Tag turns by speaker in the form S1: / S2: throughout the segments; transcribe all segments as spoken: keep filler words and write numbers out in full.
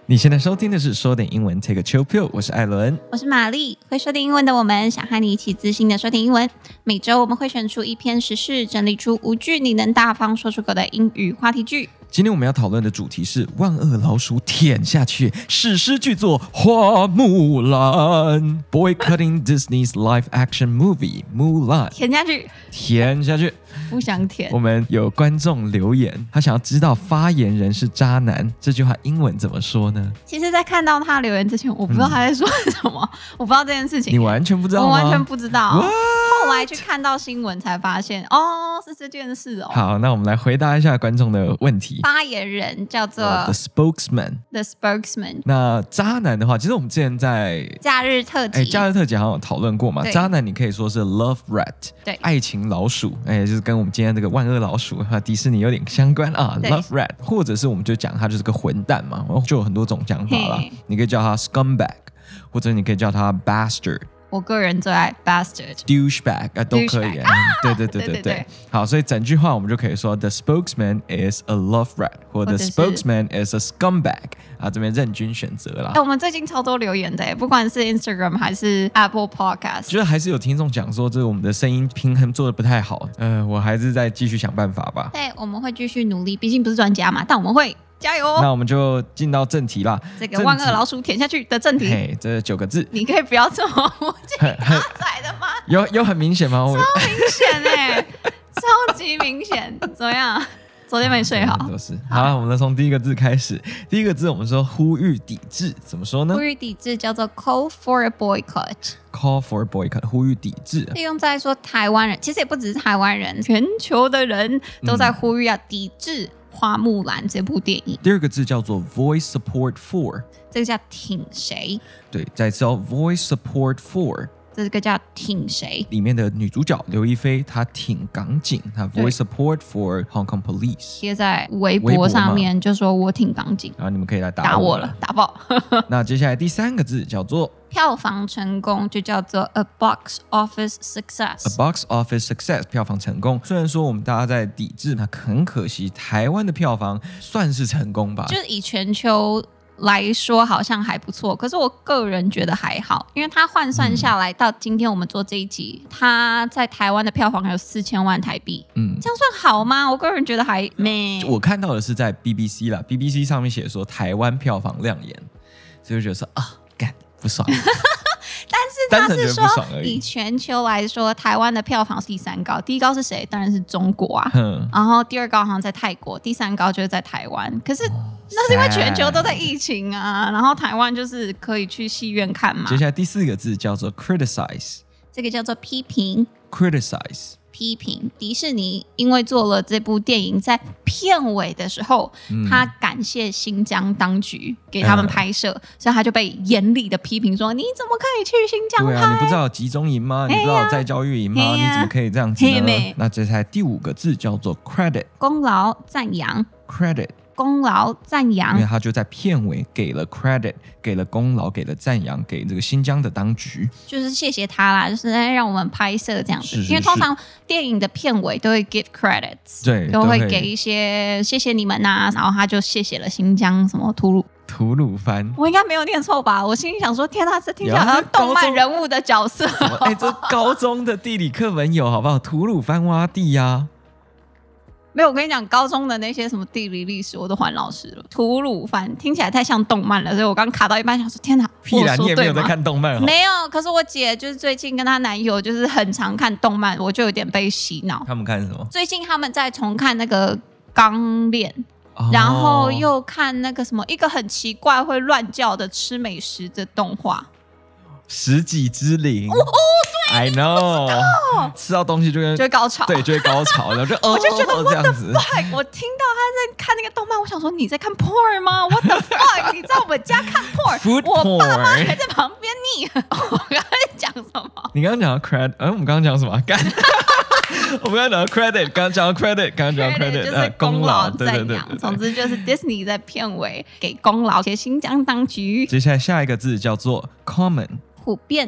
S1: 你現在收聽的是說點英文 Take a chill pill， 我是艾倫，
S2: 我是瑪麗。會說點英文的我們，想和你一起自信的說點英文。每周我們會選出一篇時事，整理出五句你能大方說出口的英語話題句。
S1: 今天我們要討論的主題是萬惡老鼠舔下去，史詩巨作《花木蘭》Boycotting Disney's live action movie Mulan。
S2: 舔下去，
S1: 舔下去，
S2: 不想舔。
S1: 我們有觀眾留言，他想要知道發言人是渣男，這句話英文怎麼說呢？
S2: 其實，在看到他留言之前，我不知道他在說什麼，嗯、我不知道這件事情。
S1: 你完全不知道嗎？
S2: 我完全不知道。
S1: What？
S2: 後來去看到新聞才發現，哦，是這件事哦。
S1: 好，那我們來回答一下觀眾的問題。
S2: 發言人叫做、uh,
S1: The Spokesman。The
S2: Spokesman。
S1: 那渣男的話，其實我們之前在
S2: 假日特輯，
S1: 哎，假日特輯好像有討論過嘛。渣男你可以說是 Love Rat， 對，愛情老鼠，哎，就是跟我們今天這個萬惡老鼠和迪士尼有點相關啊。Love Rat， 或者是我們就講他就是個混蛋嘛，就有很多種講法啦。你可以叫他 Scumbag， 或者你可以叫他 Bastard。
S2: 我個人最愛 bastard、douchebag
S1: 啊，都可以啊。對對對對對。好，所以整句話我們就可以說 The spokesman is a love rat， 或 The spokesman is a scumbag。啊，這邊任君選擇啦。
S2: 哎，我們最近超多留言的，不管是 Instagram 還是 Apple Podcast，
S1: 覺得還是有聽眾講說，這我們的聲音平衡做得不太好。呃，我還是再繼續想辦法吧。
S2: 對，我們會繼續努力，畢竟不是專家嘛，但我們會。加油！
S1: 那我們就進到正題啦。
S2: 這個萬惡老鼠舔下去的正題，
S1: 嘿，這九個字，
S2: 你可以不要這麼無精打采的嗎？
S1: 有有很明顯嗎？
S2: 超明顯哎、欸，超級明顯。怎麼樣？昨天沒睡好。
S1: 都是。好了，我們從第一個字開始。第一個字我們說呼籲抵制，怎麼說呢？
S2: 呼籲抵制叫做 call for a boycott。call
S1: for a boycott， 呼籲抵制。
S2: 利用在說台灣人，其實也不只是台灣人，全球的人都在呼籲要抵制。嗯花木蘭這部電影，
S1: 第二個字叫做 voice support for，
S2: 這個叫挺誰？
S1: 對，再次哦 voice support for，
S2: 這個叫挺誰？
S1: 裡面的女主角劉亦菲，她挺港警，她 voice support for Hong Kong Police，
S2: 貼在微博上面就說我挺港警，
S1: 然後你們可以來打我，
S2: 打我了，打爆。
S1: 那接下來第三個字叫做
S2: 票房成功，就叫做 a box office success。a
S1: box office success， 票房成功。雖然說我們大家在抵制，那很可惜，台灣的票房算是成功吧？
S2: 就是以全球來說，好像還不錯。可是我個人覺得還好，因為它換算下來，嗯、到今天我們做這一集，它在台灣的票房有四千萬台幣。嗯，這樣算好嗎？我個人覺得還沒。
S1: 我看到的是在 B B C 啦 ，B B C 上面寫說台灣票房亮眼，所以我覺得說啊。不爽，
S2: 但是他是說以全球來說，台灣的票房是第三高，第一高是誰？當然是中國啊。然後第二高好像在泰國，第三高就是在台灣。可是那是因為全球都在疫情啊，然後台灣就是可以去戲院看嘛。
S1: 接下來第四個字叫做 criticize，
S2: 這個叫做批評。
S1: criticize。
S2: 批評迪士尼，因為做了這部電影，在片尾的時候，嗯、他感謝新疆當局給他們拍攝，嗯、所以他就被嚴厲的批評說：“你怎麼可以去新疆拍？
S1: 對啊，你不知道有集中營嗎？你不知道有再教育營嗎？啊、你怎麼可以這樣子呢？”那接下來第五個字叫做 credit，
S2: 功勞讚揚
S1: credit。
S2: 功勞讚揚，
S1: 因為他就在片尾給了 credit， 給了功勞，給了讚揚，給這個新疆的當局，就是
S2: 謝謝他啦，就是讓我們拍攝這樣子。是是是，因為通常電影的片尾都會 give credits，
S1: 對，
S2: 都會給一些謝謝你們吶、啊，然後他就謝謝了新疆什麼吐魯
S1: 吐魯番，
S2: 我應該沒有念錯吧？我心裡想說，天哪，這聽起來好像動漫人物的角色。
S1: 哎，這高中的地理課本有好不好？吐魯番洼地呀、啊。
S2: 沒有，我跟你講，高中的那些什麼地理歷史我都還老師了。吐魯番聽起來太像動漫了，所以我剛卡到一半想說，天哪，
S1: 屁啦，你也沒有在看動漫？
S2: 沒有，可是我姐就是最近跟她男友就是很常看動漫，我就有點被洗腦。
S1: 他們看什麼？
S2: 最近他們在重看那個《鋼鍊》，哦，然後又看那個什麼一個很奇怪會亂叫的吃美食的動畫。
S1: 食戟之靈
S2: 哦哦，對
S1: ，I know，吃到東西就會
S2: 就會高潮，
S1: 對，就會高潮，然後就
S2: 我就覺得 what the fuck， 我聽到他在看那個動漫，我想說你在看 porn 嗎 ？What the fuck， 你在我們家看 porn， 我爸媽還在旁邊逆。我剛才講什麼？
S1: 你剛剛講到 credit，嗯，我們剛剛講什麼？幹，我們剛剛講到 credit， 剛剛講到 credit， 剛剛講到 credit，
S2: 就是功勞讚揚。總之就是 Disney 在片尾給功勞給新疆當局。
S1: 接下來下一個字叫做 common。
S2: 普遍的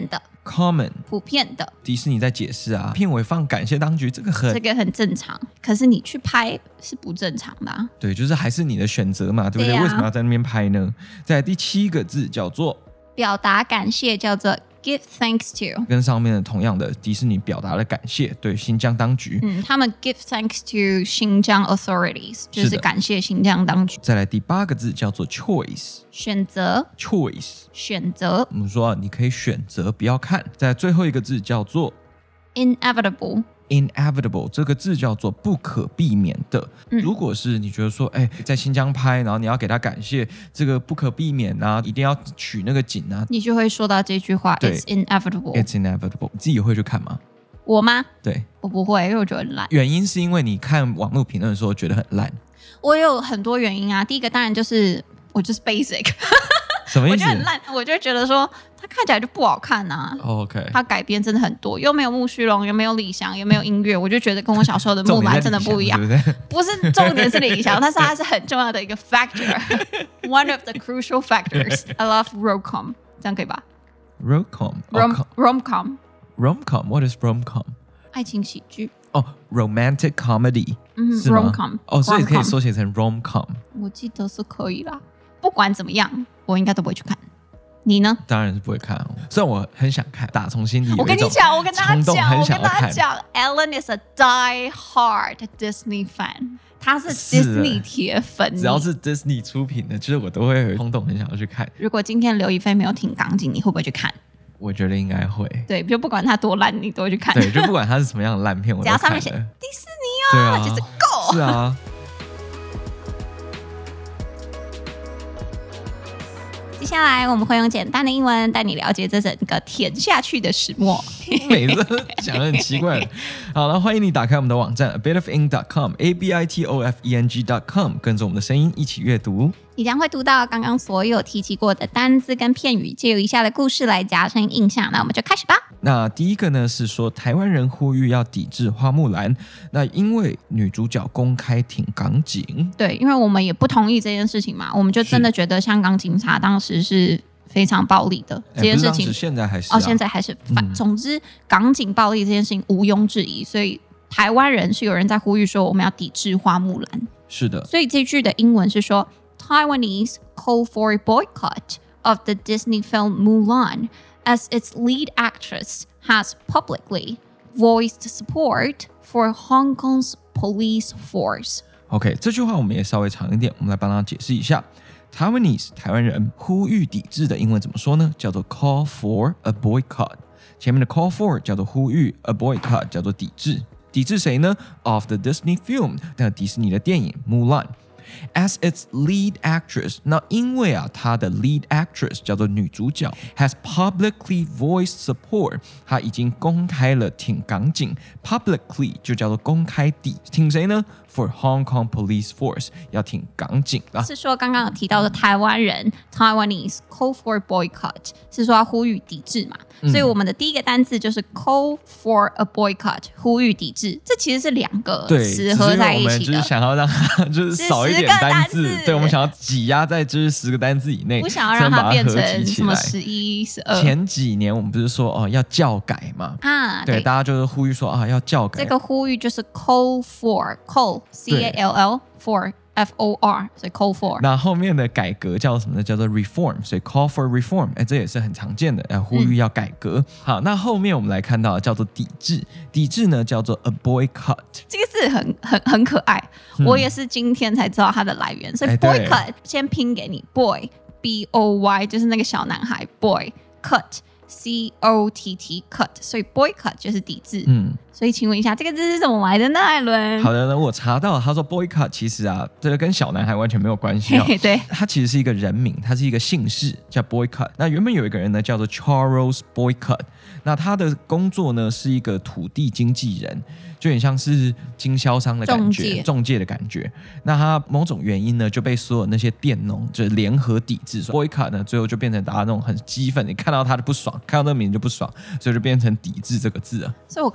S1: common
S2: 普遍的。
S1: 迪士尼在解釋啊，片尾放感謝當局，這個很
S2: 這個很正常，可是你去拍是不正常的啊。
S1: 對，就是還是你的選擇嘛，對不對？對啊，為什麼要在那邊拍呢？再來第七個字叫做
S2: 表達感謝，叫做give thanks to，
S1: 跟上面的同樣的，迪士尼表達了感謝，對新疆當局，
S2: 嗯，他們 give thanks to 新疆 authorities， 就是感謝新疆當局。
S1: 再來第八個字叫做 choice，
S2: 選擇
S1: choice
S2: 選擇，
S1: 我們說你可以選擇不要看。再來最後一個字叫做
S2: inevitable。
S1: inevitable 這個字叫做不可避免的、嗯、如果是你覺得說哎，在新疆拍，然後你要給他感謝，這個不可避免啊，一定要取那個景啊，
S2: 你就會說到這句話 It's inevitable
S1: It's inevitable 你自己會去看嗎？
S2: 我嗎？
S1: 對，
S2: 我不會，因為我覺得很爛。
S1: 原因是因為你看網絡評論的時候覺得很爛。
S2: 我有很多原因啊，第一個當然就是我就是 basic
S1: 什麼意思？
S2: 我覺得很爛，我就覺得說它看起來就不好看啊。
S1: Oh, OK，
S2: 它改編真的很多，又沒有木須龍，又沒有李翔，又沒有音樂，我就覺得跟我小時候的木蘭真的不一樣。對不對？不是重點是李翔，但是它是很重要的一個 factor，one of the crucial factors. I love rom-com， 這樣可以吧
S1: ？rom-com，rom-com，rom-com，What is rom-com？
S2: 愛情喜劇。
S1: 哦、oh, ，romantic comedy，嗯，是嗎
S2: rom-com，
S1: 哦，所以可以縮寫成 rom-com。
S2: 我記得是可以啦。不管怎麼樣，我應該都不會去看。你呢？
S1: 當然是不會看、哦，雖然我很想看，打從心底。
S2: 我跟你講，我跟大家講，我跟大家講
S1: ，Ellen
S2: is a die-hard Disney fan， 他是 Disney 鐵粉。
S1: 只要是 Disney 出品的，就是我都會有衝動，很想要去看。
S2: 如果今天劉亦菲沒有挺港警，你會不會去看？
S1: 我覺得應該會。對，
S2: 就不管它多爛，你都會去看。
S1: 對，就不管它是什麼樣的爛片，我都看了。只要上面寫
S2: 迪士尼哦，
S1: 啊、
S2: 就是夠。
S1: 是啊。
S2: 接下來我們會用簡單的英文帶你了解這整個舔下去的始末。
S1: 每次講得很奇怪。好了，歡迎你打開我們的網站 a bit of ink dot com a b i t o f e n g dot com， 跟着我們的聲音一起閱讀。你將會讀到剛剛所有提及過的單字跟片語，借由以下的故事來加深印象。那我們就開始吧。那第一個呢是說，台灣人呼籲要抵制花木蘭，那因為女主角公開挺港警。對，因為我們也不同意這件事情嘛，我們就真的覺得香港警察當時是非常暴力的這件事情。欸、現在還是、啊、哦，現在還是反、嗯。總之，港警暴力這件事情毋庸置疑，所以台灣人是有人在呼籲說我們要抵制花木蘭。是的，所以這句的英文是說 Taiwanese call for a boycott of the Disney film Mulan as its lead actress has publicly voiced support for Hong Kong's police force. OK， 這句話我們也稍微長一點，我們來幫他解釋一下。Taiwanese 台灣人呼籲抵制的英文怎麼說呢？叫做 call for a boycott。前面的 call for 叫做呼籲 ，a boycott 叫做抵制。抵制誰呢 ？Of the Disney film， 那迪士尼的電影《木蘭》。As its lead actress， 那因為啊，她的 lead actress 叫做女主角 ，has publicly voiced support， 她已經公開了挺港警 ，publicly 就叫做公開地，挺誰呢 ？For Hong Kong Police Force， 要挺港警啦。是說剛剛有提到的台灣人 Taiwanese call for boycott， 是說要呼籲抵制嘛、嗯？所以我們的第一個單字就是 call for a boycott， 呼籲抵制，這其實是兩個詞合在一起的。對，只是因為我們就是想要讓它就是少一點。單字，對，我們想要擠壓在就是十個單字以內，不想要讓它變成什麼十一、十二。前幾年我們不是說哦要教改嘛？啊，對，大家就是呼籲說啊要教改。這個呼籲就是 call for call c a l l for f o r， 所以 call for。那後面的改革叫什麼呢？叫做 reform， 所以 call for reform， 哎，這也是很常見的，哎，呼籲要改革、嗯。好，那後面我們來看到叫做抵制，抵制呢叫做 a boycott。這個字很很很可愛、嗯，我也是今天才知道它的來源。所以 boycott 先拼給你 boy b o y， 就是那個小男孩 boy cut。C O T T cut， 所以 boycott 就是抵制。嗯，所以請問一下，這個字是怎麼來的呢？艾倫？好的，那我查到了，他說 boycott 其實啊，這個跟小男孩完全沒有關係哦。嘿嘿，對，他其實是一個人名，他是一個姓氏，叫 boycott。那原本有一個人呢，叫做 Charles Boycott。那他的工作呢，是一個土地經紀人，就有點像是經銷商的感覺，中介，中介的感覺。那他某種原因呢，就被所有那些佃農就聯合抵制。boycott 呢，最後就變成大家那種很激憤，你看到他就不爽，看到那個名就不爽，所以就變成抵制這個字了。所以我剛剛就在想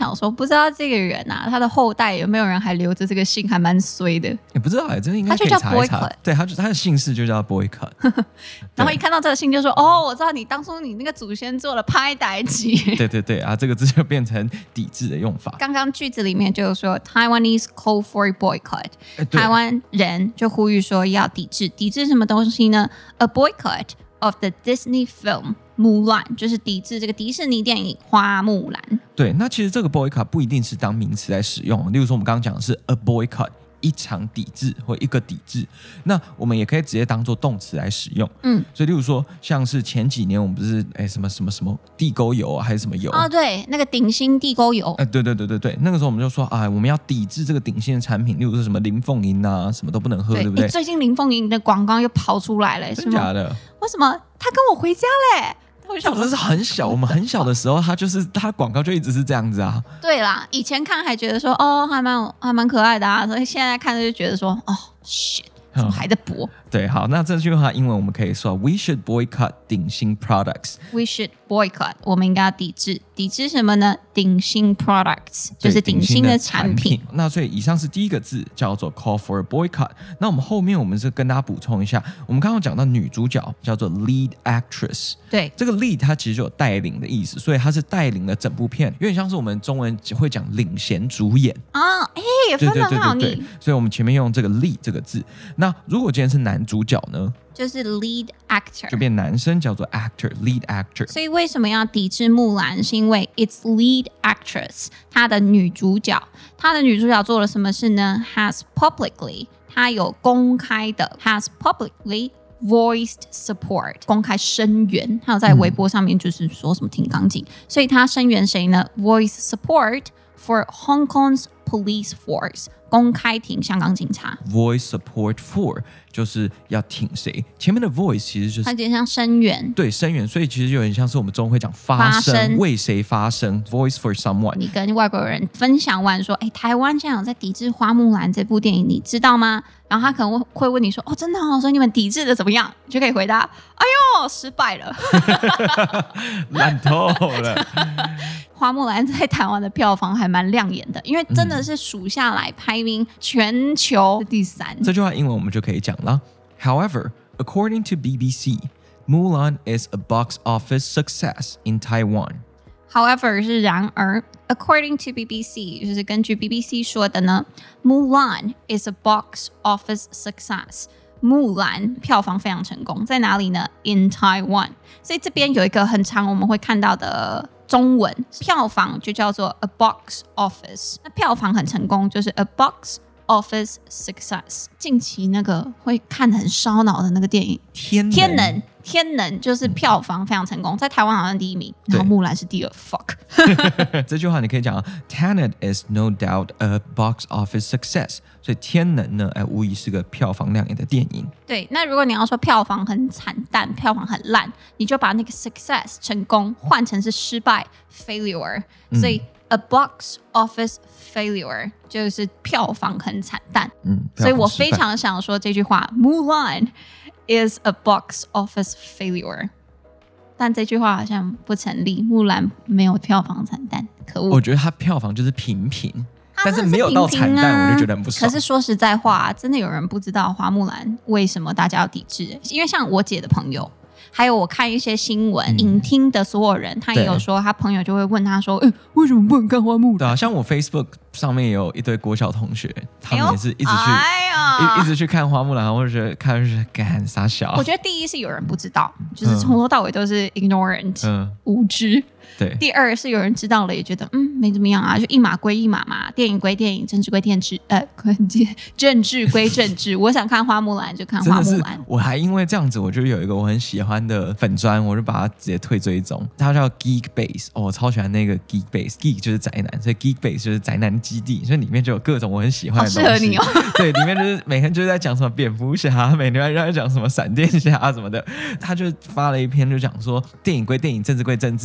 S2: 想說，不知道這個人啊，他的後代有沒有人還留着這個姓，還蠻衰的。
S1: 也不知道哎，這應該可以查一查。對，他就他的姓氏就叫 Boycott。
S2: 然後一看到這個姓就說，哦，我知道你當初你那個祖先做了歹代誌。
S1: 對對對啊，這個字就變成抵制的用法。
S2: 剛剛句子裡面就說 Taiwanese call for boycott，台灣人就呼籲說要抵制，抵制什麼東西呢？ A boycott of the Disney film Mulan， 就是抵制這個迪士尼電影花木蘭。對，
S1: 那其實這個 boycott 不一定是當名詞來使用，例如說我們剛剛講的是 a boycott， 一場抵制或一個抵制，那我們也可以直接當做動詞來使用。嗯，所以例如說像是前幾年我們不是哎什麼什麼什麼地溝油啊，還是什麼油
S2: 啊、哦？對，那個鼎新地溝油。
S1: 哎，對對對對對，那個時候我們就說啊，我們要抵制這個鼎新的產品，例如說什麼林鳳營啊，什麼都不能喝，對，對不對？
S2: 最近林鳳營的廣告又跑出來了，
S1: 真的假的？
S2: 為什麼他跟我回家嘞？
S1: 這不是很小，我們很小的時候，他就是他廣告就一直是這樣子啊。
S2: 對啦，以前看還覺得說哦，還蠻還蠻可愛的啊，所以現在看就覺得說哦 ，shit，怎麼還在播？嗯、對，好，那這句話英文我們可以說 ，We should boycott 鼎新 products。We should boycott，我們應該要抵制，抵制什麼呢？鼎新 products 就是鼎新的產品。產品
S1: 那所以以上是第一個字叫做 call for a boycott。那我們後面我們是跟大家補充一下，我們剛剛講到女主角叫做 lead actress。對，這個 lead 它其實就有帶領的意思，所以它是帶領了整部片，有點像是我們中文會講領銜主演
S2: 啊。哎、哦，分得很好你。
S1: 所以我們前面用這個 lead 這個字。那如果今天是男主角呢？
S2: 就是 lead actor，
S1: 就變男生叫做 actor lead actor。
S2: 所以為什麼要抵制木蘭？是因為 its lead actress， 她的女主角，她的女主角做了什麼事呢 ？Has publicly， 她有公開的 ，has publicly voiced support， 公開聲援，她有在微博上面就是說什麼挺剛勁，嗯、所以她聲援誰呢 ？Voice support for Hong Kong's police force。公開挺香港警察
S1: ，voice support for 就是要挺誰？前面的 voice 其實就是
S2: 它有點像聲援，
S1: 對聲援，所以其實有點像是我們中文會講發聲，發聲為誰發聲 ？Voice for someone。你
S2: 跟外國人分享完說，哎，台灣現在有在抵制花木蘭這部電影，你知道嗎？然後他可能會問你說，哦，真的哦，所以你們抵制的怎麼樣？你就可以回答，哎呦，失敗了，
S1: 爛透了。
S2: 花木蘭在台灣的票房還蠻亮眼的，因為真的是數下來排名全球第三。
S1: 嗯、這句話英文我們就可以講了。However, according to B B C, Mulan is a box office success in Taiwan.
S2: However 是然而 ，according to B B C 就是根據 B B C 說的呢 ，Mulan is a box office success. 木蘭票房非常成功，在哪裡呢 ？In Taiwan。所以這邊有一個很常我們會看到的。中文票房就叫做 a box office， 那票房很成功就是 a box office success。近期那個會看得很燒腦的那個電影
S1: 天能，
S2: 天能，天能就是票房非常成功，在台灣好像第一名，然後木蘭是第二。fuck，
S1: 這句話你可以講 Tenet is no doubt a box office success。所以天能呢，哎，無疑是個票房亮眼的電影。
S2: 對，那如果你要說票房很慘淡，票房很爛，你就把那個 success 成功換成是失敗 failure。所以、嗯、a box office failure 就是票房很慘淡。嗯，所以我非常想說這句話 ，Mulan is a box office failure。但這句話好像不成立，木蘭沒有票房慘淡，可惡。我
S1: 覺得它票房就是平平。但是沒有到慘淡，我就覺得很不爽。
S2: 可是說實在話，真的有人不知道花木蘭為什麼大家要抵制？因為像我姐的朋友，還有我看一些新聞、嗯、影廳的所有人，他也有說，他朋友就會問他說：“哎，為什麼不能看花木蘭？”
S1: 對啊，像我 Facebook 上面也有一堆國小同學，他們也是一直去，哎呀，一一直去看花木蘭，或者覺得看就是幹啥小。
S2: 我覺得第一是有人不知道，就是從頭到尾都是 ignorant，、嗯、無知。對，第二是有人知道了也覺得嗯沒怎麼樣啊，就一碼歸一碼嘛，電影歸電影，政治歸政治，呃，政治歸政治。我想看花木蘭就看花木蘭。
S1: 我還因為這樣子，我就有一個我很喜歡的粉專，我就把它直接退追蹤。它叫 Geek Base， 哦，我超喜歡那個 Geek Base，Geek 就是宅男，所以 Geek Base 就是宅男基地，所以裡面就有各種我很喜歡的東西。
S2: 好適合你哦。對，
S1: 裡面就是每天就是在講什麼蝙蝠俠，每天在講什麼閃電俠什麼的。他就發了一篇就講說電影歸電影，政治歸政治啊，你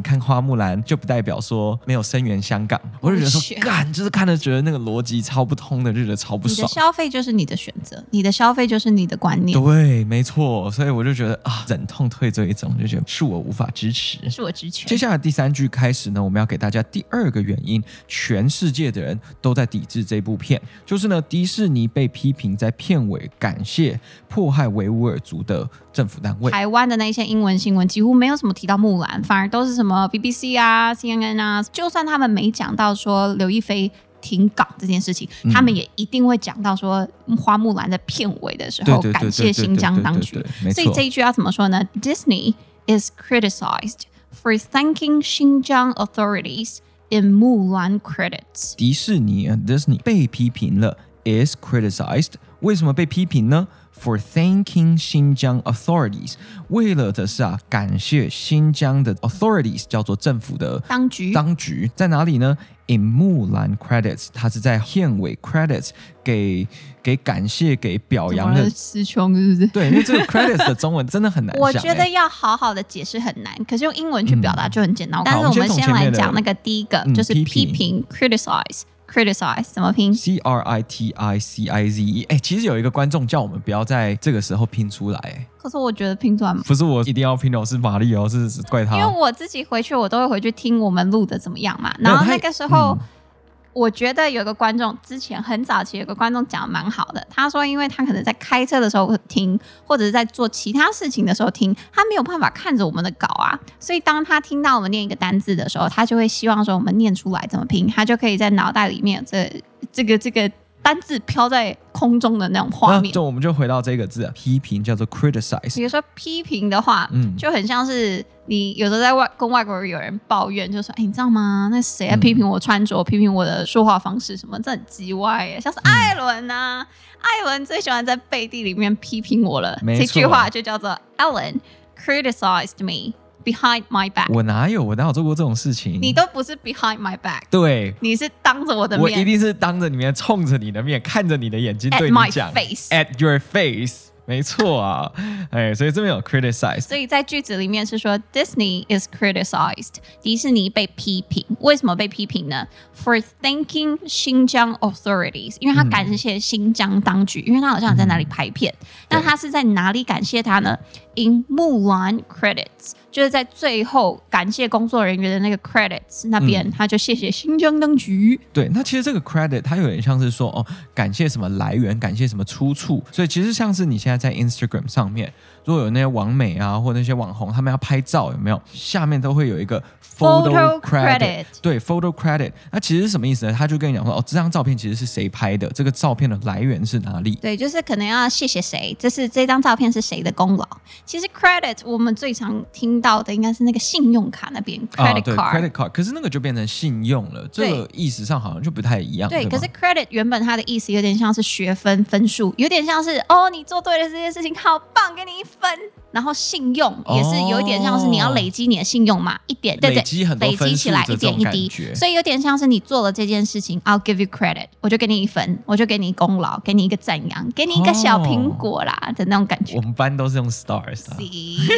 S1: 看花木蘭就不代表說沒有聲援香港。我就覺得說，幹，就是看了覺得那個邏輯超不通的，就覺得超不爽。
S2: 你的消費就是你的選擇，你的消費就是你的觀念。
S1: 對，沒錯。所以我就覺得啊，忍痛退這一種，就覺得恕我無法支持，
S2: 恕我直拳。
S1: 接下來第三句開始呢，我們要給大家第二個原因，全世界的人都在抵制這部片，就是呢，迪士尼被批評在片尾感謝迫害維吾爾族的政府單位。
S2: 台灣的那些英文新聞幾乎沒有什麼提到木蘭，反而都是什麼 B B C 啊、C N N 啊，就算他們沒講到說劉亦菲停港這件事情，嗯、他們也一定會講到說花木蘭在片尾的時候感謝新疆當局。所以這一句要怎麼說呢？ Disney is criticized for thanking Xinjiang authorities in Mulan credits.
S1: 迪士尼 Disney 被批評了 is criticized， 為什麼被批評呢？ For thanking Xinjiang authorities， 為了的是啊，感謝新疆的 authorities， 叫做政府的
S2: 當局。
S1: 當局在哪裡呢？ In Mulan credits， 它是在片尾 credits 給給感謝給表揚的。
S2: 詞窮是不是？
S1: 對，因為這個 credits 的中文真的很難想。
S2: 我覺得要好好的解釋很難，可是用英文去表達就很簡單。嗯、但是我們先來講那個第一個，嗯、就是批評 criticize。criticize 怎麼拼
S1: ？C R I T I C I Z E。哎，其實有一個觀眾叫我們不要在這個時候拼出來。
S2: 可是我覺得拼出來
S1: 不是我一定要拼的，是瑪麗哦，是怪他。
S2: 因為我自己回去，我都會回去聽我們錄的怎麼樣嘛。然後那個時候。我覺得有個觀眾之前很早期有個觀眾講的蠻好的，他說因為他可能在開車的時候聽，或者是在做其他事情的時候聽，他沒有辦法看着我們的稿啊，所以當他聽到我們念一個單字的時候，他就會希望說我們念出來怎麼拼，他就可以在腦袋裡面這這個這個單字飄在空中的那種畫面。
S1: 就我們就回到這個字啊，批評叫做 criticize。
S2: 比如說批評的話，嗯，就很像是你有時候在外跟外國人有人抱怨，就說：“哎，你知道嗎？那誰在批評我穿着，嗯、批評我的說話方式什麼？這很雞歪耶！像是艾倫啊，嗯、艾倫最喜歡在背地裡面批評我了。這句話就叫做 Ellen criticized me behind my back。我哪有？我哪有做過這種事情？你都不是 behind my back， 對，你是當着我的面。我一定是當着你面，衝着你的面，看着你的眼睛對你講 At my face， At your face。沒錯啊，哎，所以這邊有 criticize， 所以在句子裡面是說 Disney is criticized， 迪士尼被批評，為什麼被批評呢 ？For thanking Xinjiang authorities， 因為他感謝新疆當局，嗯、因為他好像在哪裡拍片，嗯、那他是在哪裡感謝他呢 ？In Mulan credits， 就是在最後感謝工作人員的那個 credits 那邊，嗯、他就謝謝新疆當局。對，那其實這個 credit 它有點像是說哦，感謝什麼來源，感謝什麼出處，所以其實像是你現在在 Instagram 上面，如果有那些網美啊，或那些網紅，他們要拍照，有沒有下面都會有一個 photo credit？, photo credit 對 ，photo credit。那其實是什麼意思呢？他就跟你講說，哦，這張照片其實是誰拍的？這個照片的來源是哪裡？對，就是可能要謝謝誰，這是這張照片是誰的功勞。其實 credit 我們最常聽到的應該是那個信用卡那邊 credit card，啊、credit card。可是那個就變成信用了，這個意思上好像就不太一樣。對，對可是 credit 原本它的意思有點像是學分分數，有點像是哦，你做對了這件事情，好棒，給你一分。然後信用也是有一點像是你要累積你的信用嘛，哦、一點對對，累積很多分數，累積起來一點一滴，所以有點像是你做了這件事情 ，I'll give you credit， 我就給你一分，我就給你功勞，給你一個讚揚，給你一個小蘋果啦、哦、的那種感覺。我們班都是用 stars 啊。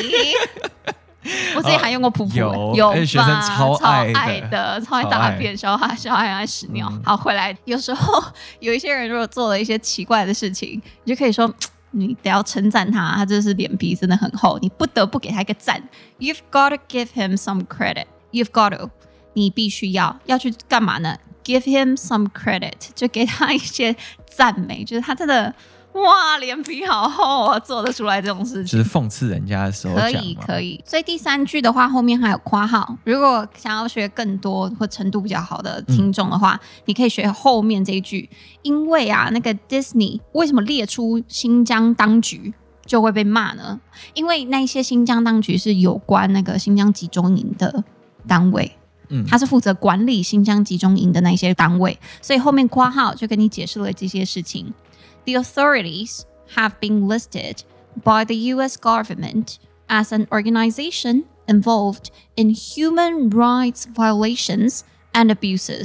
S2: 我自己還用過噗噗，有有吧？學生超愛的，超愛的，超愛大便，小孩小孩愛屎尿。嗯、好，回來有時候有一些人如果做了一些奇怪的事情，你就可以說。你得要稱讚他，他就是臉皮真的很厚，你不得不給他一個讚。You've got to give him some credit. You've got to， 你必須要要去幹嘛呢 ？Give him some credit， 就給他一些讚美，就是他真的哇，臉皮好厚啊，做得出來這種事情，就是諷刺人家的時候講。可以可以。所以第三句的話，後面還有括號。如果想要學更多或程度比較好的聽眾的話，嗯、你可以學後面這一句。因為啊，那個 Disney 為什麼列出新疆當局就會被罵呢？因為那些新疆當局是有關那個新疆集中營的單位，嗯，他是負責管理新疆集中營的那些單位，所以後面括號就跟你解釋了這些事情。The authorities have been listed by the U S government as an organization involved in human rights violations and abuses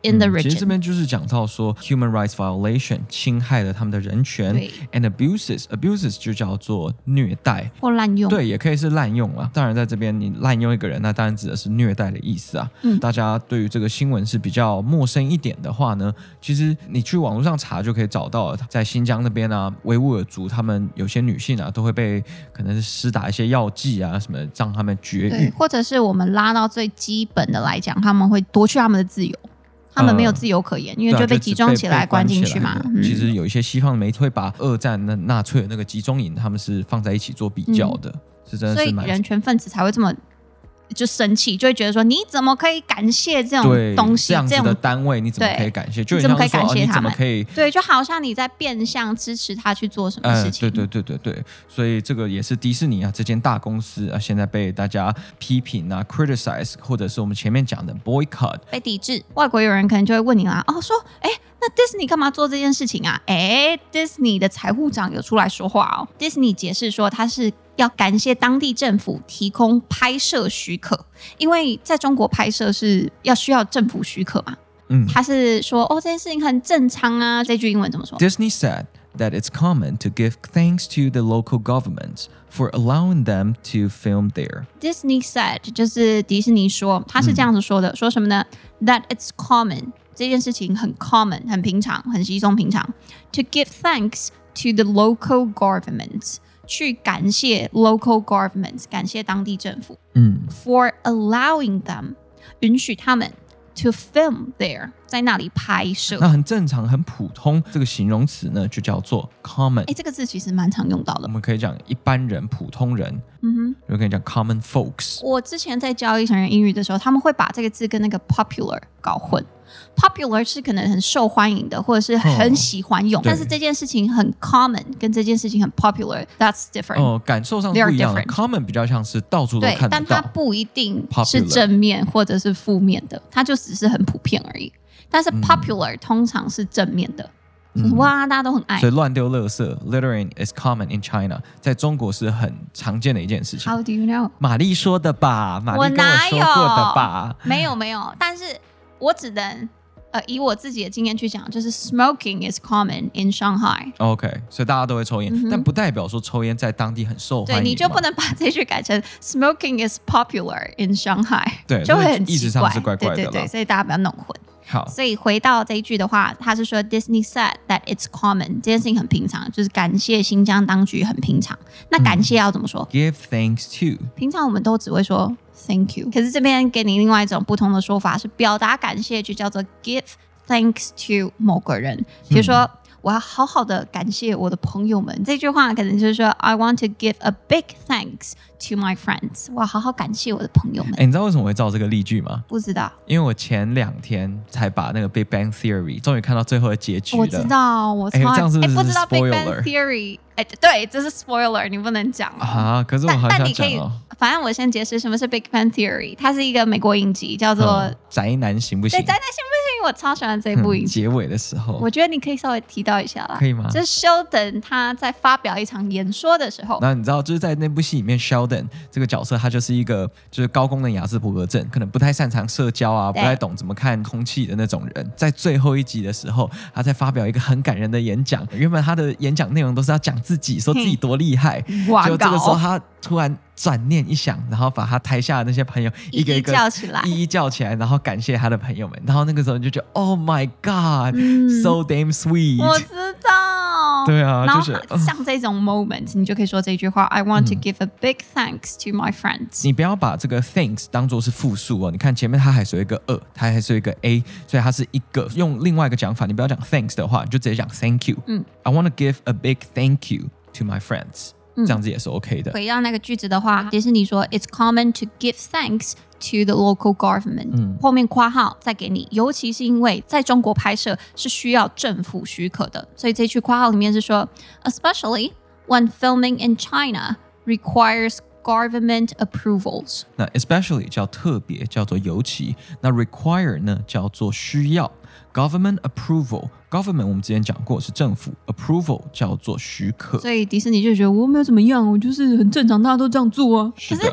S2: in the region、嗯、
S1: 其實這邊就是講到說 human rights violation 侵害了他們的人權 and abuses abuses 就叫做虐待
S2: 或濫用，
S1: 對，也可以是濫用啊。當然在這邊你濫用一個人，那當然指的是虐待的意思啊、嗯、大家對於這個新聞是比較陌生一點的話呢，其實你去網絡上查就可以找到了。在新疆那邊啊，維吾爾族他們有些女性啊都會被可能是施打一些藥劑啊什麼的，讓他們絕育，
S2: 或者是我們拉到最基本的來講，他們會奪去他們的自由，他們沒有自由可言、呃、因為就被集中起來關進去嘛、嗯、
S1: 其實有一些西方的媒體會把二戰那納粹的那個集中營他們是放在一起做比較的、嗯、是真的是蠻，所以
S2: 人權分子才會這麼就生氣，就會覺得說你怎麼可以感謝這種東西，
S1: 這樣子的單位你怎麼可以感謝？就你怎麼可以感謝他們、哦、你怎麼可以
S2: 對，就好像你在變相支持他去做什麼事情、
S1: 呃、對對對對對，所以這個也是迪士尼啊，這間大公司啊，現在被大家批評啊 criticize， 或者是我們前面講的 boycott
S2: 被抵制。外國友人可能就會問你啦，哦，說哎，那 Disney 幹嘛做這件事情啊？哎 Disney 的財務長有出來說話哦。Disney 解釋說他是要感謝當地政府提供拍攝許可，因為在中國拍攝是要需要政府許可嘛。嗯，他是說哦，這件事情很正常啊。這句英文怎麼說？
S1: Disney said that it's common to give thanks to the local governments for allowing them to film there.
S2: Disney said 就是迪士尼說，他是這樣子說的，嗯、說什麼呢 ？That it's common 這件事情很 common 很平常，很稀鬆平常。To give thanks to the local governments。去感謝 local governments， 感謝當地政府，嗯 ，for allowing them， 允許他們 to film there， 在那裡拍攝。
S1: 那很正常，很普通。這個形容詞呢，就叫做 common。
S2: 哎，這個字其實蠻常用到的。
S1: 我們可以講一般人、普通人。嗯哼，就可以講 common folks。
S2: 我之前在教一成人英語的時候，他們會把這個字跟那個 popular 搞混。Popular 是可能很受歡迎的，或者是很喜歡用，哦、但是這件事情很 common， 跟這件事情很 popular，that's different。哦，
S1: 感受上是不一樣的。Common 比較像是到處都看得到，
S2: 但它不一定是正面或者是負面的，它就只是很普遍而已。但是 popular、嗯、通常是正面的，就是哇，大家都很愛。
S1: 所以亂丟垃圾 ，littering is common in China， 在中國是很常見的一件事情。
S2: How do you know？
S1: 瑪麗說的吧，瑪麗跟我說過的吧。
S2: 沒有沒有，但是我只能。呃，以我自己的經驗去講，就是 smoking is common in Shanghai。OK，
S1: 所以大家都會抽菸、嗯，但不代表說抽菸在當地很受歡迎。
S2: 對，你就不能把這句改成 smoking is popular in Shanghai，
S1: 對，
S2: 就會很奇怪，
S1: 意思上是怪怪的。
S2: 對對對，所以大家不要弄混。
S1: 好，
S2: 所以回到這一句的話，他是說 Disney said that it's common， 這件事情很平常，就是感謝新疆當局很平常。那感謝要怎麼說、
S1: 嗯、？Give thanks to。
S2: 平常我們都只會說 thank you， 可是這邊給你另外一種不同的說法，是表達感謝就叫做 give thanks to 某個人。比如說、嗯、我要好好的感謝我的朋友們，這句話可能就是說 I want to give a big thanks to my friends， 我要好好感謝我的朋友們。
S1: 哎，你知道為什麼會造這個例句嗎？
S2: 不知道，
S1: 因為我前兩天才把那個 Big Bang Theory 終於看到最後的結局了。
S2: 我知道，我超愛。
S1: 哎，這樣是不是
S2: 不知道 Big Bang Theory？ 哎，對，這是 spoiler， 你不能講
S1: 啊。可是我好想講哦。
S2: 反正我先解釋什麼是 Big Bang Theory， 它是一個美國影集，叫做、嗯、
S1: 宅男行不行？
S2: 對，宅男行不行？我超喜歡這部影集、
S1: 嗯。結尾的時候，
S2: 我覺得你可以稍微提到一下啦。
S1: 可以嗎？
S2: 就是 Sheldon 他在發表一場演說的時候，
S1: 那你知道，就是在那部戲裡面 ，Sheldon 這個角色，他就是一個就是高功能亞斯伯格症，可能不太擅長社交啊，不太懂怎麼看空氣的那種人。在最後一集的時候，他在發表一個很感人的演講。原本他的演講內容都是要講自己，說自己多厲害。就這個時候，他突然轉念一想，然後把他台下的那些朋友一個一個
S2: 叫起來，
S1: 一一叫起來，然後感謝他的朋友們。然後那個時候你就覺得 ，Oh my God，、嗯、so damn sweet。
S2: 我知道。對啊，
S1: 就是
S2: 像這種 moment，、嗯、你就可以說這句話 ：I want to give a big thanks to my friends。
S1: 你不要把這個 thanks 當作是複數哦。你看前面它還是有一個 a， 它還是有一個 a， 所以它是一個。用另外一個講法，你不要講 thanks 的話，你就直接講 thank you。嗯 ，I want to give a big thank you to my friends。這樣子也是 OK 的。
S2: 回到那個句子的話，迪士尼說 It's common to give thanks to the local government、嗯。後面括號再給你，尤其是因為在中國拍攝是需要政府許可的，所以這句括號裡面是說 Especially when filming in China requires government approvals。
S1: 那 especially 叫特別，叫做尤其。那 require 呢叫做需要。Government approval， government 我們之前講過是政府 ，approval 叫做許可。
S2: 所以迪士尼就覺得我沒有怎麼樣，我就是很正常，大家都這樣做啊。
S1: 是的。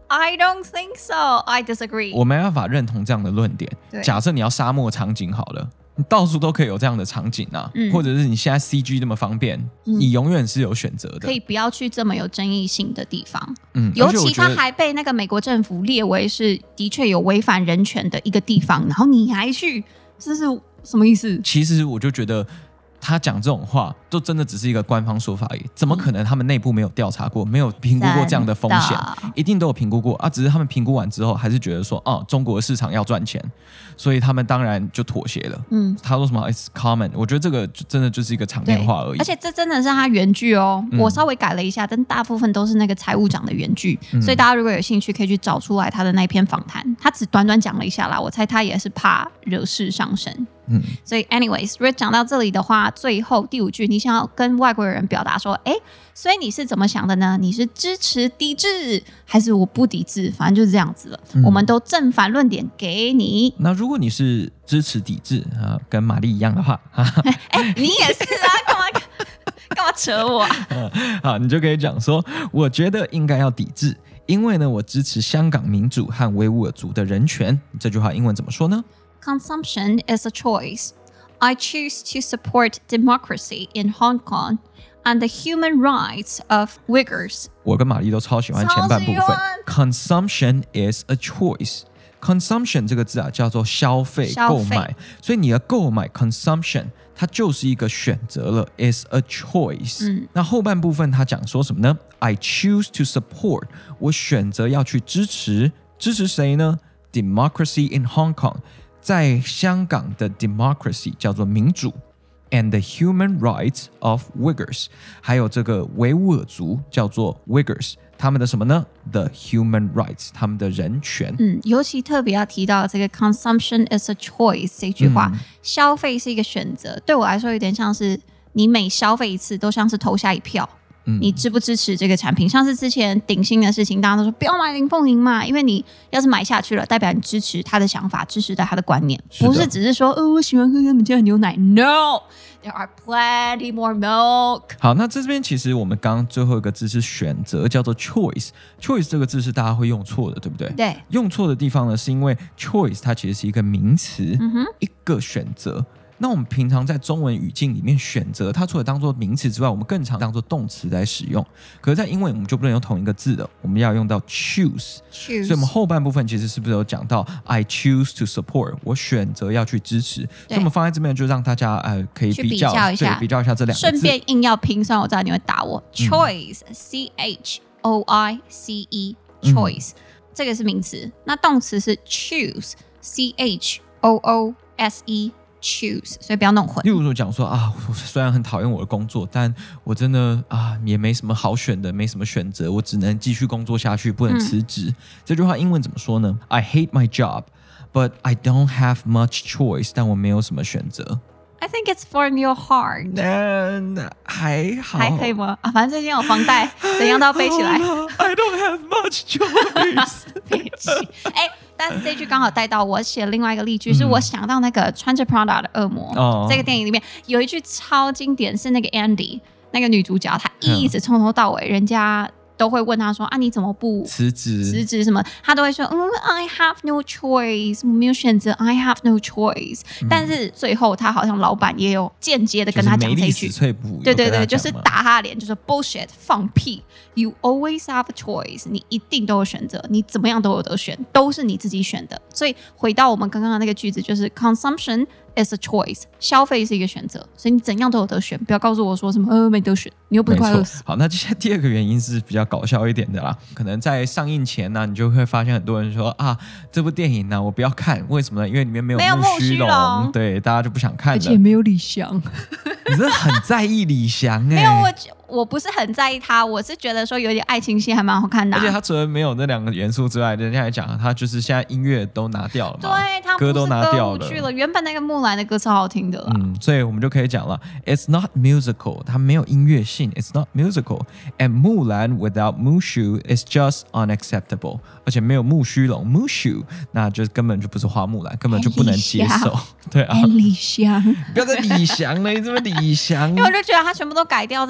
S2: I don't think so. I disagree.
S1: 我沒辦法認同這樣的論點。假設你要沙漠場景好了，你到處都可以有這樣的場景啊，嗯、或者是你現在 C G 這麼方便，嗯、你永遠是有選擇的。
S2: 可以不要去這麼有爭議性的地方。嗯，尤其它還被那個美國政府列為是的確有違反人權的一個地方，然後你還去，這是什麼意思？
S1: 其實我就覺得。他講這種話，都真的只是一個官方說法而已。怎麼可能他們內部沒有調查過，沒有評估過這樣的風險？一定都有評估過啊！只是他們評估完之後，還是覺得說，哦，中國的市場要賺錢，所以他們當然就妥協了。嗯，他說什麼 "It's common"， 我覺得這個真的就是一個場面話而已。
S2: 而且這真的是他原句哦，嗯、我稍微改了一下，但大部分都是那個財務長的原句。嗯、所以大家如果有興趣，可以去找出來他的那篇訪談。他只短短講了一下啦，我猜他也是怕惹事上身。嗯，所以 anyways， 如果講到這裡的話，最後第五句，你想要跟外國人表達說，哎，所以你是怎麼想的呢？你是支持抵制，還是我不抵制？反正就是這樣子了。嗯、我們都正反論點給你。
S1: 那如果你是支持抵制啊，跟瑪麗一樣的話，
S2: 哎，你也是啊，幹嘛幹嘛扯我、啊嗯？
S1: 好，你就可以講說，我覺得應該要抵制，因為呢，我支持香港民主和維吾爾族的人權。這句話英文怎麼說呢
S2: ？Consumption is a choice. I choose to support democracy in Hong Kong and the human rights of Uyghurs.
S1: 我跟瑪麗都超喜歡前半部分。Consumption is a choice. Consumption 這個字啊，叫做消費、購買，所以你的購買 consumption 它就是一個選擇了 is a choice。嗯，那後半部分他講說什麼呢？ I choose to support. 我選擇要去支持，支持誰呢？ Democracy in Hong Kong。在香港的 democracy 叫做民主 and the human rights of Uyghurs， 還有這個維吾爾族叫做 Uyghurs， 他們的什麼呢？ The human rights， 他們的人權。
S2: 嗯，尤其特別要提到這個 consumption is a choice 這句話，嗯、消費是一個選擇，對我來說有點像是你每消費一次都像是投下一票。你支不支持這個產品？像是之前頂新的事情，大家都說不要買林鳳營嘛，因為你要是買下去了，代表你支持他的想法，支持他的觀念，不是只是說，呃，我喜歡喝他們家的牛奶。No， there are plenty more milk。
S1: 好，那這邊其實我們剛剛最後一個字是選擇，叫做 choice。choice 這個字是大家會用錯的，對不對？
S2: 對。用
S1: 錯的地方呢，是因為 choice 它其實是一個名詞，嗯哼，一個選擇。那我們平常在中文語境裡面選擇，它除了當做名詞之外，我們更常當做動詞來使用。可是，在英文我們就不能用同一個字了，我們要用到 choose。choose。所以，我們後半部分其實是不是有講到 I choose to support， 我選擇要去支持。所以，我們放在這邊就讓大家呃可以比較，比較一下，對，比較一下這兩個字。
S2: 順便硬要拼，雖然我知道你會打我。choice，嗯，C H O I C E，choice，嗯，這個是名詞。那動詞是 choose，C H O O S E。choose， 所以不要弄混。
S1: 例如說講說啊，我雖然很討厭我的工作，但我真的啊也沒什麼好選的，沒什麼選擇，我只能繼續工作下去，不能辭職。嗯、這句話英文怎麼說呢？ I hate my job, but I don't have much choice. 但我沒有什麼選擇。
S2: I think it's for your heart.
S1: 嗯，還好，
S2: 還可以嗎？啊，反正最近有房貸，怎樣都要背起來。
S1: I don't have much choice.
S2: 背起，哎。但是這句剛好帶到我寫另外一個例句，嗯、是我想到那個穿着 Prada 的惡魔、哦、這個電影裡面有一句超經典，是那個 Andy 那個女主角，她一直從頭到尾，嗯、人家都會問她說啊，你怎麼不辭職？辭職什麼？她都會說嗯 I have no choice， 我沒有選擇 I have no choice、嗯。但是最後她好像老闆也有間接的跟她講這一句，對對對，就是打她的臉，就是 bullshit， 放屁。You always have a choice， 你一定都有選擇，你怎麼樣都有得選，都是你自己選的。所以回到我們剛剛的那個句子，就是 consumption is a choice， 消費是一個選擇，所以你怎樣都有得選，不要告訴我說什麼呃沒得選，你又不是快餓死。
S1: 好，那接下來第二個原因是比較搞笑一點的啦，可能在上映前呢、啊，你就會發現很多人說啊，這部電影呢、啊、我不要看，為什麼呢？因為裡面沒有木須龍，對，大家就不想看了，而
S2: 且沒有李翔。
S1: 你真的很在意李翔哎、欸？
S2: 沒有我。我不是很在意他，我是覺得說有點愛情戲還蠻好看的、啊，
S1: 而且他除了沒有那兩個元素之外，人家來講他就是現在音樂都拿掉了嘛，
S2: 對，他
S1: 歌都拿掉
S2: 了，去了。原本那個木蘭的歌超好聽的啦，
S1: 嗯，所以我們就可以講了 ，It's not musical， 它沒有音樂性 ，It's not musical，and 木蘭 without Mushu is just unacceptable， 而且沒有木須龍 Mushu， 那就根本就不是花木蘭，根本就不能接受，對啊，
S2: 李翔，
S1: 不要再李翔了，你這麼李翔，
S2: 因為我就覺得他全部都改掉，真的很可惜。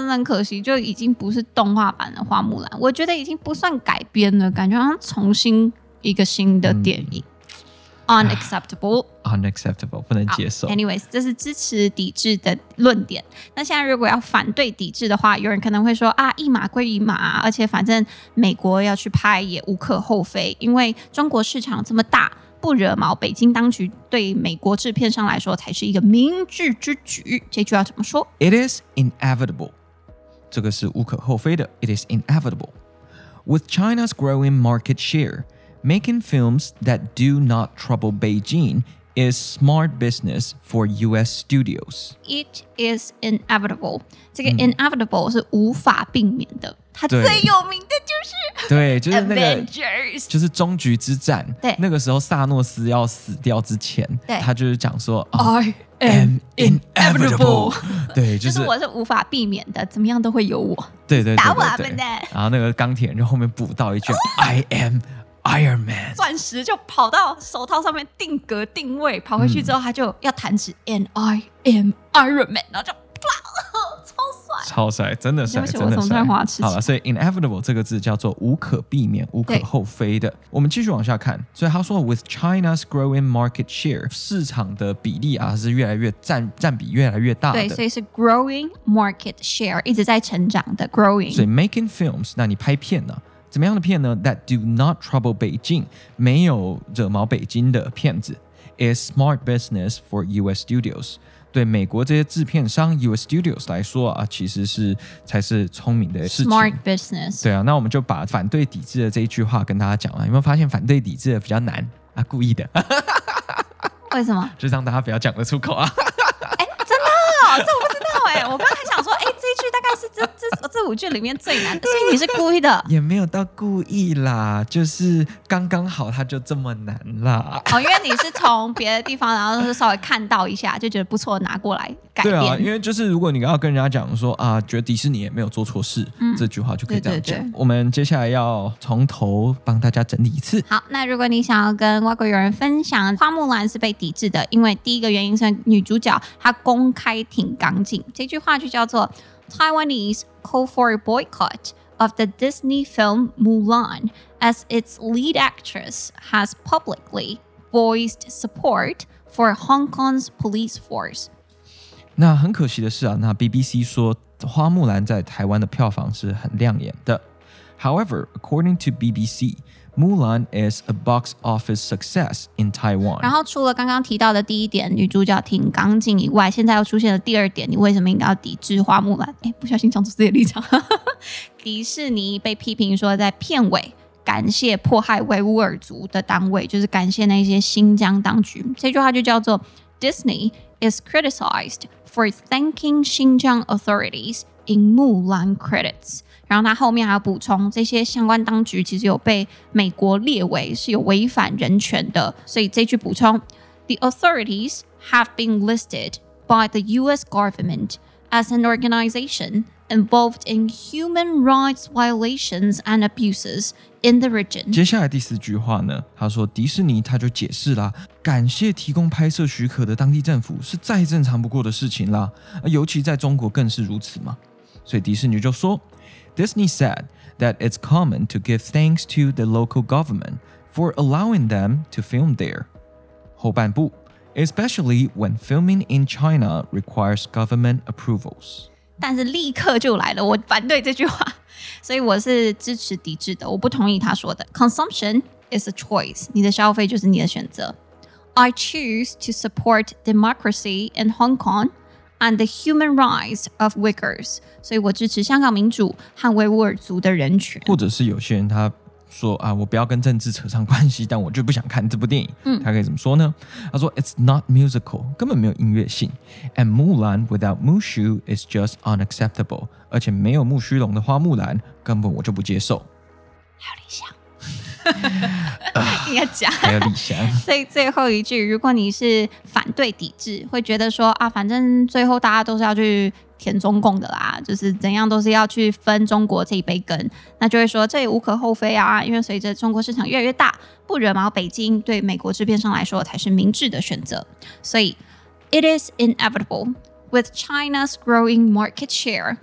S2: 惜，就已經不是動畫版的花木蘭，我覺得已經不算改編了，感覺好像重新一個新的電影。嗯Unacceptable，
S1: unacceptable 不能接受。
S2: Anyways， 這是支持抵制的論點。那現在如果要反對抵制的話，有人可能會說啊，一碼歸一碼，而且反正美國要去拍也無可厚非，因為中國市場這麼大，不惹毛北京當局，對美國制片商來說才是一個明智之舉。這句要怎麼說
S1: ？It is inevitable， 這個是無可厚非的。It is inevitable with China's growing market share.Making films that do not trouble Beijing is smart business for U S studios.
S2: It is inevitable. 這個 inevitable、嗯、是無法避免的。它最有名的就是
S1: 對，就是那個
S2: Avengers，
S1: 就是終局之戰。
S2: 對，
S1: 那個時候薩諾斯要死掉之前，他就是講說、
S2: 哦、I am inevitable。
S1: 對，就是、
S2: 就是我是無法避免的，怎麼樣都會有我。
S1: 對對對對對，
S2: 打我啊笨蛋！
S1: 然後那個鋼鐵人就後面補到一句、哦、I am。Iron Man
S2: 鑽石就跑到手套上面定格定位，跑回去之後他就要彈指、嗯、And I am Iron Man， 然後就啪，超帥，
S1: 超帥，真的帥，真的帥。好了，所以 inevitable 這個字叫做無可避免、無可厚非的。我們繼續往下看，所以他說 with China's growing market share， 市場的比例啊是越來越占占比越來越大的。
S2: 對，所以是 growing market share， 一直在成長的 growing。
S1: 所以 making films， 那你拍片呢、啊？怎麼樣的片呢 ？That do not trouble Beijing， 沒有惹毛北京的片子 ，is smart business for U S studios。對美國這些制片商 U S studios 來說啊，其實是才是聰明的事情。
S2: Smart business。
S1: 對啊，那我們就把反對抵制的這一句話跟大家講了。有沒有發現反對抵制的比較難啊？故意的。
S2: 為什麼？
S1: 就讓大家不要講得出口啊。
S2: 哎，真的、哦，這我不知道哎。我剛才想說，哎，這一句大概是這這這五句裡面最難的，所以你是故意的？也
S1: 沒有到故意啦，就是剛剛好，它就這麼難啦。
S2: 哦，因為你是從別的地方，然後就是稍微看到一下，就覺得不錯，拿過來改編。
S1: 對啊，因為就是如果你要跟人家講說啊，覺得迪士尼也沒有做錯事、嗯，這句話就可以這樣講。對對對，我們接下來要從頭幫大家整理一次。
S2: 好，那如果你想要跟外國友人分享花木蘭是被抵制的，因為第一個原因是女主角她公開挺港警，這句話就叫做 Taiwanese call for a boycott of the Disney film Mulan as its lead actress has publicly voiced support for Hong Kong's police force。
S1: 那很可惜的是啊，那 B B C 說花木蘭在台灣的票房是很亮眼的。However, according to B B C,Mulan is a box office success in Taiwan。 然
S2: 後除了剛剛提到的第一點，女主角挺港警以外，現在又出現了第二點，你為什麼應該要抵制花木蘭？哎，不小心講出自己的立場。迪士尼被批評說在片尾感謝迫害維吾爾族的單位，就是感謝那些新疆當局。這句話就叫做 Disney is criticized for thanking Xinjiang authorities in Mulan credits。然後他後面還要補充，這些相關當局其實有被美國列為是有違反人權的，所以這句補充 The authorities have been listed by the U S government as an organization involved in human rights violations and abuses in the region。
S1: 接下來第四句話呢，他說迪士尼他就解釋啦，感謝提供拍攝許可的當地政府是再正常不過的事情啦，尤其在中國更是如此嘛。所以迪士尼就說Disney said that it's common to give thanks to the local government for allowing them to film there. 後半部 especially when filming in China requires government approvals.
S2: 但是立刻就來了，我反對這句話，所以我是支持抵制的，我不同意他說的。Consumption is a choice. 你的消費就是你的選擇。I choose to support democracy in Hong Kong.And the human rights of Uyghurs， 所以我支持香港民主和維吾爾族的人權。
S1: 或者是有些人他說啊，我不要跟政治扯上關係，但我就不想看這部電影。嗯，他可以怎麼說呢？他說 It's not musical， 根本沒有音樂性。And Mulan without Mushu is just unacceptable， 而且沒有木須龍的花木蘭，根本我就不接受。
S2: 還有理想。應該講
S1: 還有理想。
S2: 所以最後一句，如果你是反對抵制，會覺得說啊，反正最後大家都是要去舔中共的啦，就是怎樣都是要去分中國這一杯羹，那就會說這也無可厚非啊，因為隨着中國市場越來越大，不惹毛北京對美國制片商來說才是明智的選擇。所以 It is inevitable with China's growing market share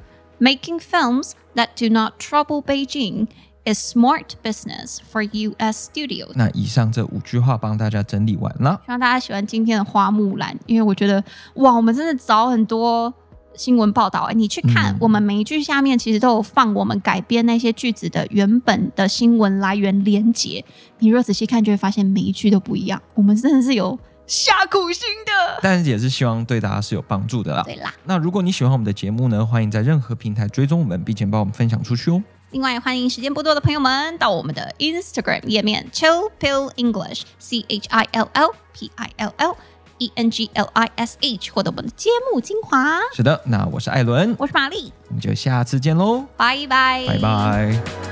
S2: Making films that do not trouble Beijing is smart business for U S studios.
S1: 那以上這五句話幫大家整理完了，
S2: 希望大家喜歡今天的花木蘭，因為我覺得哇，我們真的找很多新聞報道，你去看、嗯、我們每一句下面其實都有放我們改編那些句子的原本的新聞來源連結，你如果仔細看就會發現每一句都不一樣，我們真的是有下苦心的，
S1: 但是也是希望對大家是有幫助的啦。
S2: 對啦，
S1: 那如果你喜歡我們的節目呢，歡迎在任何平台追蹤我們，並且幫我們分享出去哦。
S2: 另外，歡迎時間不多的朋友們到我們的 Instagram 頁面 Chill Pill English C H I L L P I L L E N G L I S H 獲得我們的節目精華。
S1: 是的，那我是艾倫，
S2: 我是瑪麗，
S1: 我們就下次見嘍，
S2: 拜拜，
S1: 拜拜。